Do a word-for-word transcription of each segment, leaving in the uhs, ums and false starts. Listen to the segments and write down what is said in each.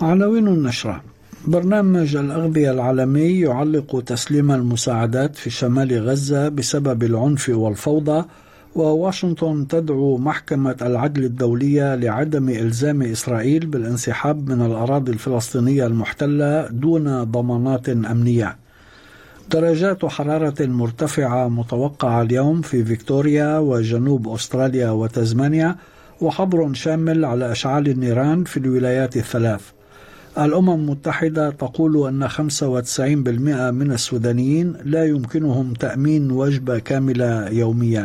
عناوين النشرة: برنامج الأغذية العالمي يعلق تسليم المساعدات في شمال غزة بسبب العنف والفوضى، وواشنطن تدعو محكمة العدل الدولية لعدم إلزام إسرائيل بالانسحاب من الأراضي الفلسطينية المحتلة دون ضمانات أمنية. درجات حرارة مرتفعة متوقعة اليوم في فيكتوريا وجنوب أستراليا وتزمانيا، وحظر شامل على أشعال النيران في الولايات الثلاث. الأمم المتحدة تقول أن خمسة وتسعين بالمئة من السودانيين لا يمكنهم تأمين وجبة كاملة يوميا.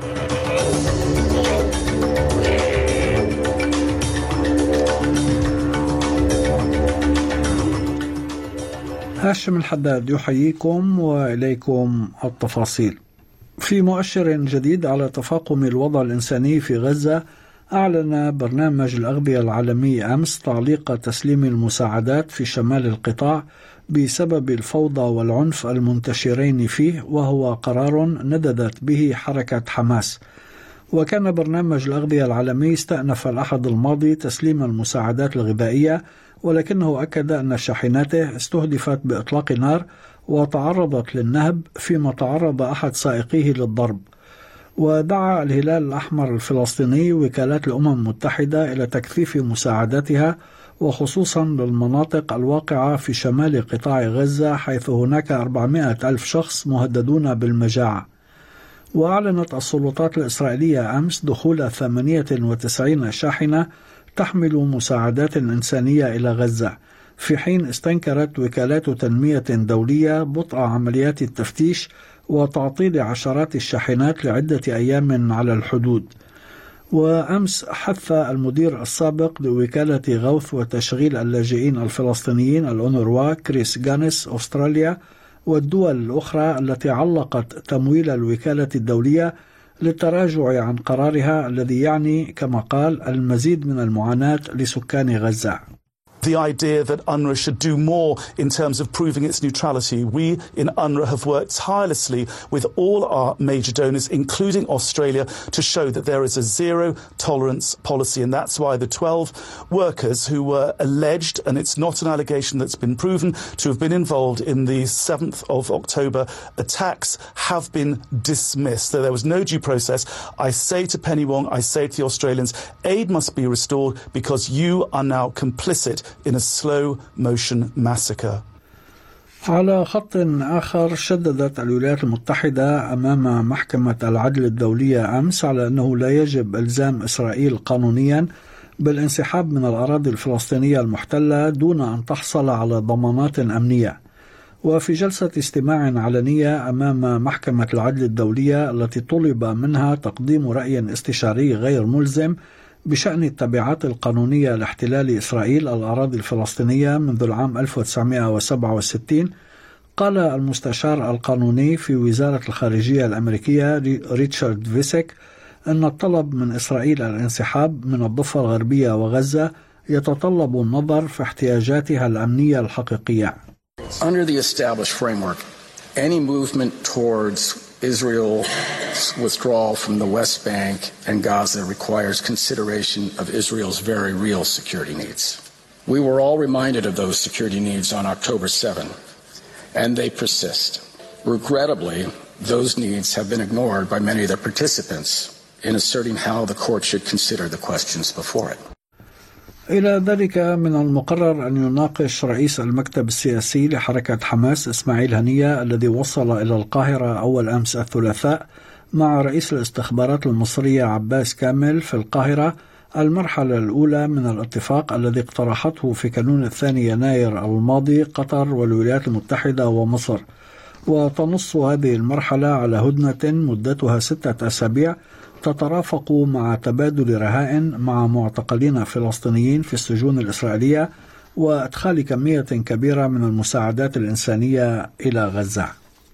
هاشم الحداد يحييكم وإليكم التفاصيل. في مؤشر جديد على تفاقم الوضع الإنساني في غزة، أعلن برنامج الأغذية العالمي أمس تعليق تسليم المساعدات في شمال القطاع بسبب الفوضى والعنف المنتشرين فيه، وهو قرار نددت به حركة حماس. وكان برنامج الأغذية العالمي استأنف الأحد الماضي تسليم المساعدات الغذائية، ولكنه أكد أن شاحناته استهدفت بإطلاق نار وتعرضت للنهب، فيما تعرض أحد سائقيه للضرب. ودعا الهلال الأحمر الفلسطيني وكالات الأمم المتحدة إلى تكثيف مساعداتها، وخصوصا للمناطق الواقعة في شمال قطاع غزة، حيث هناك أربعمائة ألف شخص مهددون بالمجاعة. وأعلنت السلطات الإسرائيلية أمس دخول ثمانية وتسعين شاحنة تحمل مساعدات إنسانية إلى غزة، في حين استنكرت وكالات تنمية دولية بطء عمليات التفتيش وتعطيل عشرات الشاحنات لعدة أيام على الحدود. وأمس حث المدير السابق لوكالة غوث وتشغيل اللاجئين الفلسطينيين الأونروا كريس غانس أستراليا والدول الأخرى التي علقت تمويل الوكالة الدولية للتراجع عن قرارها الذي يعني كما قال المزيد من المعاناة لسكان غزة. The idea that UNRWA should do more in terms of proving its neutrality. We in UNRWA have worked tirelessly with all our major donors, including Australia, to show that there is a zero tolerance policy. And that's why the twelve workers who were alleged, and it's not an allegation that's been proven, to have been involved in the seventh of October attacks have been dismissed. So there was no due process. I say to Penny Wong, I say to the Australians, aid must be restored because you are now complicit in a slow motion massacre. على خط آخر، شددت الولايات المتحدة أمام محكمة العدل الدولية أمس على أنه لا يجب إلزام إسرائيل قانونيا بالانسحاب من الأراضي الفلسطينية المحتلة دون أن تحصل على ضمانات أمنية. وفي جلسة استماع علنية أمام محكمة العدل الدولية التي طلب منها تقديم رأي استشاري غير ملزم بشأن التبعات القانونية لاحتلال إسرائيل الأراضي الفلسطينية منذ العام ألف وتسعمائة وسبعة وستين، قال المستشار القانوني في وزارة الخارجية الأمريكية ريتشارد فيسك أن الطلب من إسرائيل الانسحاب من الضفة الغربية وغزة يتطلب النظر في احتياجاتها الأمنية الحقيقية. Under the established framework, any movement towards Israel's withdrawal from the West Bank and Gaza requires consideration of Israel's very real security needs. We were all reminded of those security needs on October seventh, and they persist. Regrettably, those needs have been ignored by many of the participants in asserting how the court should consider the questions before it. إلى ذلك من المقرر أن يناقش رئيس المكتب السياسي لحركة حماس إسماعيل هنية، الذي وصل إلى القاهرة أول أمس الثلاثاء مع رئيس الاستخبارات المصرية عباس كامل في القاهرة، المرحلة الأولى من الاتفاق الذي اقترحته في كانون الثاني يناير الماضي قطر والولايات المتحدة ومصر. وتنص هذه المرحلة على هدنة مدتها ستة أسابيع تترافق مع تبادل رهائن مع معتقلين فلسطينيين في السجون الإسرائيلية وإدخال كمية كبيرة من المساعدات الإنسانية إلى غزة.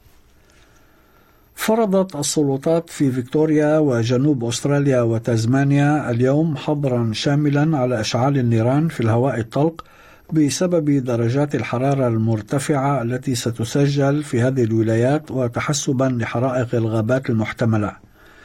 فرضت السلطات في فيكتوريا وجنوب أستراليا وتزمانيا اليوم حظرا شاملا على إشعال النيران في الهواء الطلق بسبب درجات الحرارة المرتفعة التي ستسجل في هذه الولايات، وتحسبا لحرائق الغابات المحتملة.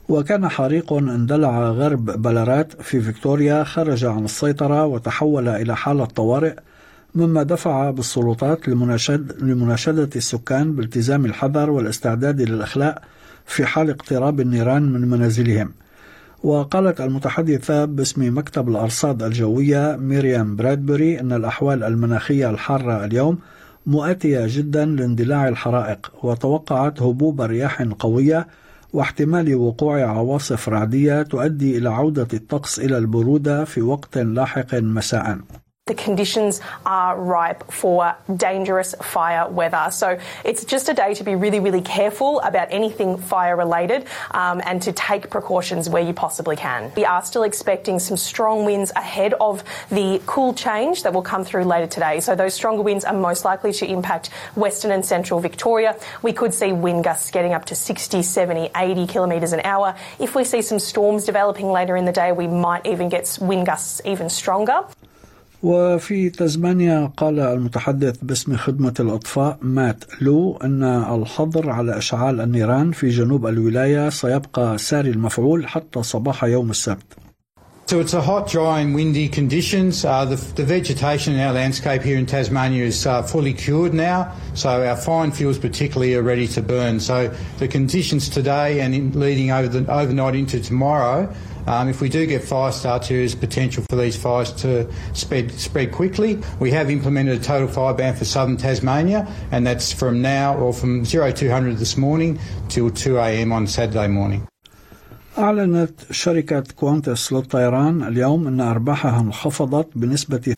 وكان حريق اندلع غرب بلارات في فيكتوريا خرج عن السيطرة وتحول إلى حالة طوارئ، مما دفع بالسلطات لمناشد لمناشدة السكان بالتزام الحذر والاستعداد للإخلاء في حال اقتراب النيران من منازلهم. وقالت المتحدثة باسم مكتب الأرصاد الجوية ميريام برادبري أن الأحوال المناخية الحارة اليوم مؤاتية جدا لاندلاع الحرائق، وتوقعت هبوب رياح قوية واحتمال وقوع عواصف رعدية تؤدي إلى عودة الطقس إلى البرودة في وقت لاحق مساء. The conditions are ripe for dangerous fire weather. So it's just a day to be really, really careful about anything fire related um, and to take precautions where you possibly can. We are still expecting some strong winds ahead of the cool change that will come through later today. So those stronger winds are most likely to impact western and central Victoria. We could see wind gusts getting up to sixty, seventy, eighty kilometres an hour. If we see some storms developing later in the day, we might even get wind gusts even stronger. وفي تزمانيا قال المتحدث باسم خدمة الإطفاء مات لو أن الحظر على إشعال النيران في جنوب الولاية سيبقى ساري المفعول حتى صباح يوم السبت. So it's a hot, dry and windy conditions. Uh, the, the vegetation in our landscape here in Tasmania is uh, fully cured now, so our fine fuels particularly are ready to burn. So the conditions today and in leading over the overnight into tomorrow, um, if we do get fire starts, there is potential for these fires to spread, spread quickly. We have implemented a total fire ban for southern Tasmania, and that's from now or from zero two hundred this morning till two a m on Saturday morning. أعلنت شركة كوانتس للطيران اليوم أن أرباحها انخفضت بنسبة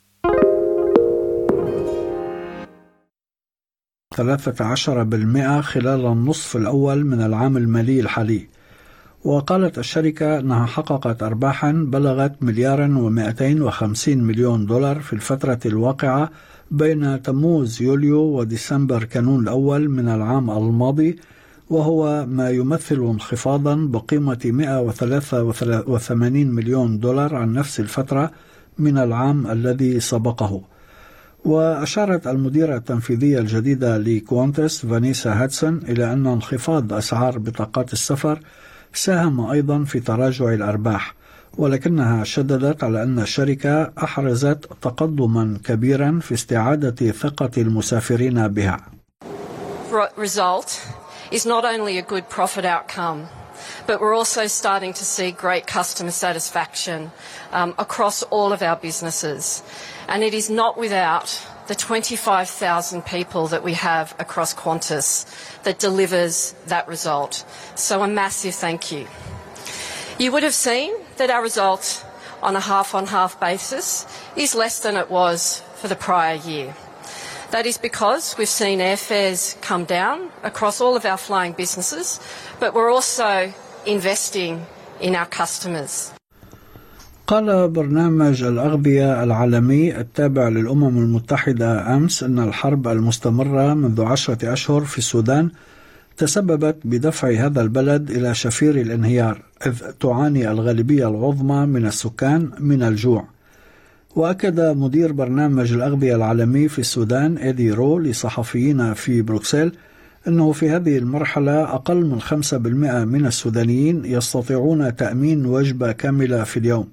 ثلاثة عشر بالمئة خلال النصف الأول من العام المالي الحالي. وقالت الشركة أنها حققت أرباحا بلغت مليارا ومئتين وخمسين مليون دولار في الفترة الواقعة بين تموز يوليو وديسمبر كانون الأول من العام الماضي، وهو ما يمثل انخفاضا بقيمة مئة وثلاثة وثمانين مليون دولار عن نفس الفترة من العام الذي سبقه. وأشارت المديرة التنفيذية الجديدة لكوانتس فانيسا هاتسون إلى أن انخفاض أسعار بطاقات السفر ساهم أيضا في تراجع الأرباح، ولكنها شددت على أن الشركة أحرزت تقدما كبيرا في استعادة ثقة المسافرين بها. Result is not only a good profit outcome, but we're also starting to see great customer satisfaction um, across all of our businesses. And it is not without the twenty-five thousand people that we have across Qantas that delivers that result. So a massive thank you. You would have seen that our result on a half-on-half basis is less than it was for the prior year. That is because we've seen airfares come down across all of our flying businesses, but we're also investing in our customers. قال برنامج الأغذية العالمي التابع للأمم المتحدة أمس أن الحرب المستمرة منذ عشرة أشهر في السودان تسببت بدفع هذا البلد إلى شفير الانهيار، إذ تعاني الغالبية العظمى من السكان من الجوع. وأكد مدير برنامج الأغذية العالمي في السودان إيدي رو لصحفيين في بروكسل أنه في هذه المرحلة أقل من خمسة بالمئة من السودانيين يستطيعون تأمين وجبة كاملة في اليوم.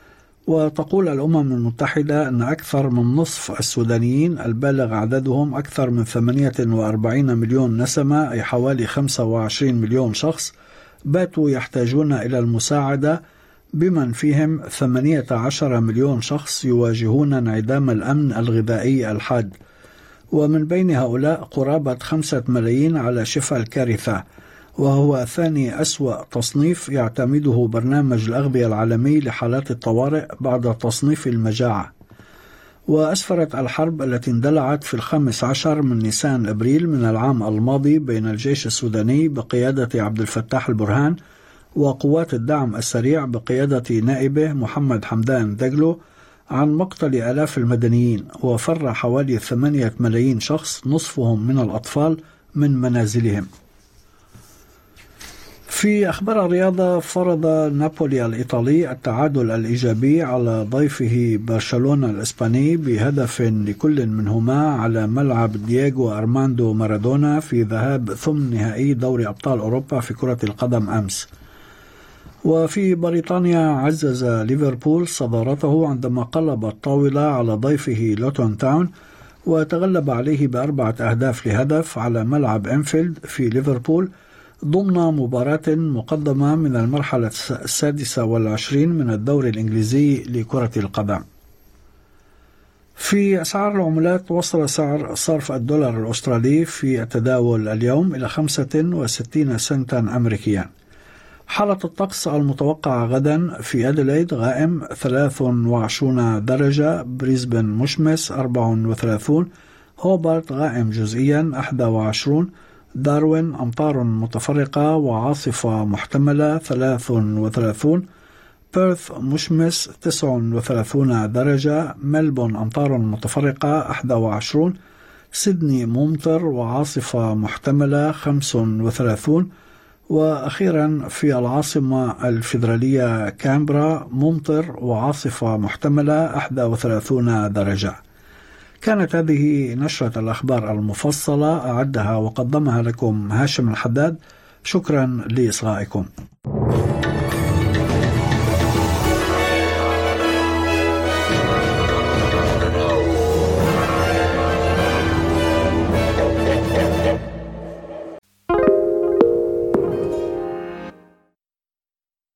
وتقول الأمم المتحدة أن أكثر من نصف السودانيين البالغ عددهم أكثر من ثمانية وأربعين مليون نسمة، أي حوالي خمسة وعشرين مليون شخص، باتوا يحتاجون إلى المساعدة، بمن فيهم ثمانية عشر مليون شخص يواجهون انعدام الأمن الغذائي الحاد، ومن بين هؤلاء قرابة خمسة ملايين على شفا الكارثة، وهو ثاني أسوأ تصنيف يعتمده برنامج الأغذية العالمي لحالات الطوارئ بعد تصنيف المجاعة. وأسفرت الحرب التي اندلعت في الخامس عشر من نيسان أبريل من العام الماضي بين الجيش السوداني بقيادة عبد الفتاح البرهان وقوات الدعم السريع بقيادة نائبه محمد حمدان دقلو عن مقتل آلاف المدنيين، وفر حوالي ثمانية ملايين شخص نصفهم من الأطفال من منازلهم. في أخبار الرياضة، فرض نابولي الإيطالي التعادل الإيجابي على ضيفه برشلونة الإسباني بهدف لكل منهما على ملعب دييغو أرماندو مارادونا في ذهاب ثمن نهائي دوري أبطال أوروبا في كرة القدم أمس. وفي بريطانيا عزز ليفربول صدارته عندما قلب الطاولة على ضيفه لوتون تاون وتغلب عليه بأربعة أهداف لهدف على ملعب أنفيلد في ليفربول ضمن مباراة مقدمة من المرحلة السادسة والعشرين من الدوري الإنجليزي لكرة القدم. في أسعار العملات، وصل سعر صرف الدولار الأسترالي في التداول اليوم إلى خمسة وستين سنتا أمريكيا. حالة الطقس المتوقعة غدا: في أديلايد غائم ثلاث وعشرون درجة، بريسبن مشمس أربعة وثلاثين، هوبارت غائم جزئيا أحد وعشرين، داروين أمطار متفرقة وعاصفة محتملة ثلاث وثلاثين، بيرث مشمس تسع وثلاثين درجة، ملبون أمطار متفرقة أحد وعشرين، سيدني ممطر وعاصفة محتملة خمس وثلاثين، وأخيرا في العاصمة الفيدرالية كامبرا ممطر وعاصفة محتملة إحدى وثلاثين درجة. كانت هذه نشرة الأخبار المفصلة، أعدها وقدمها لكم هاشم الحداد. شكرا لإصغائكم.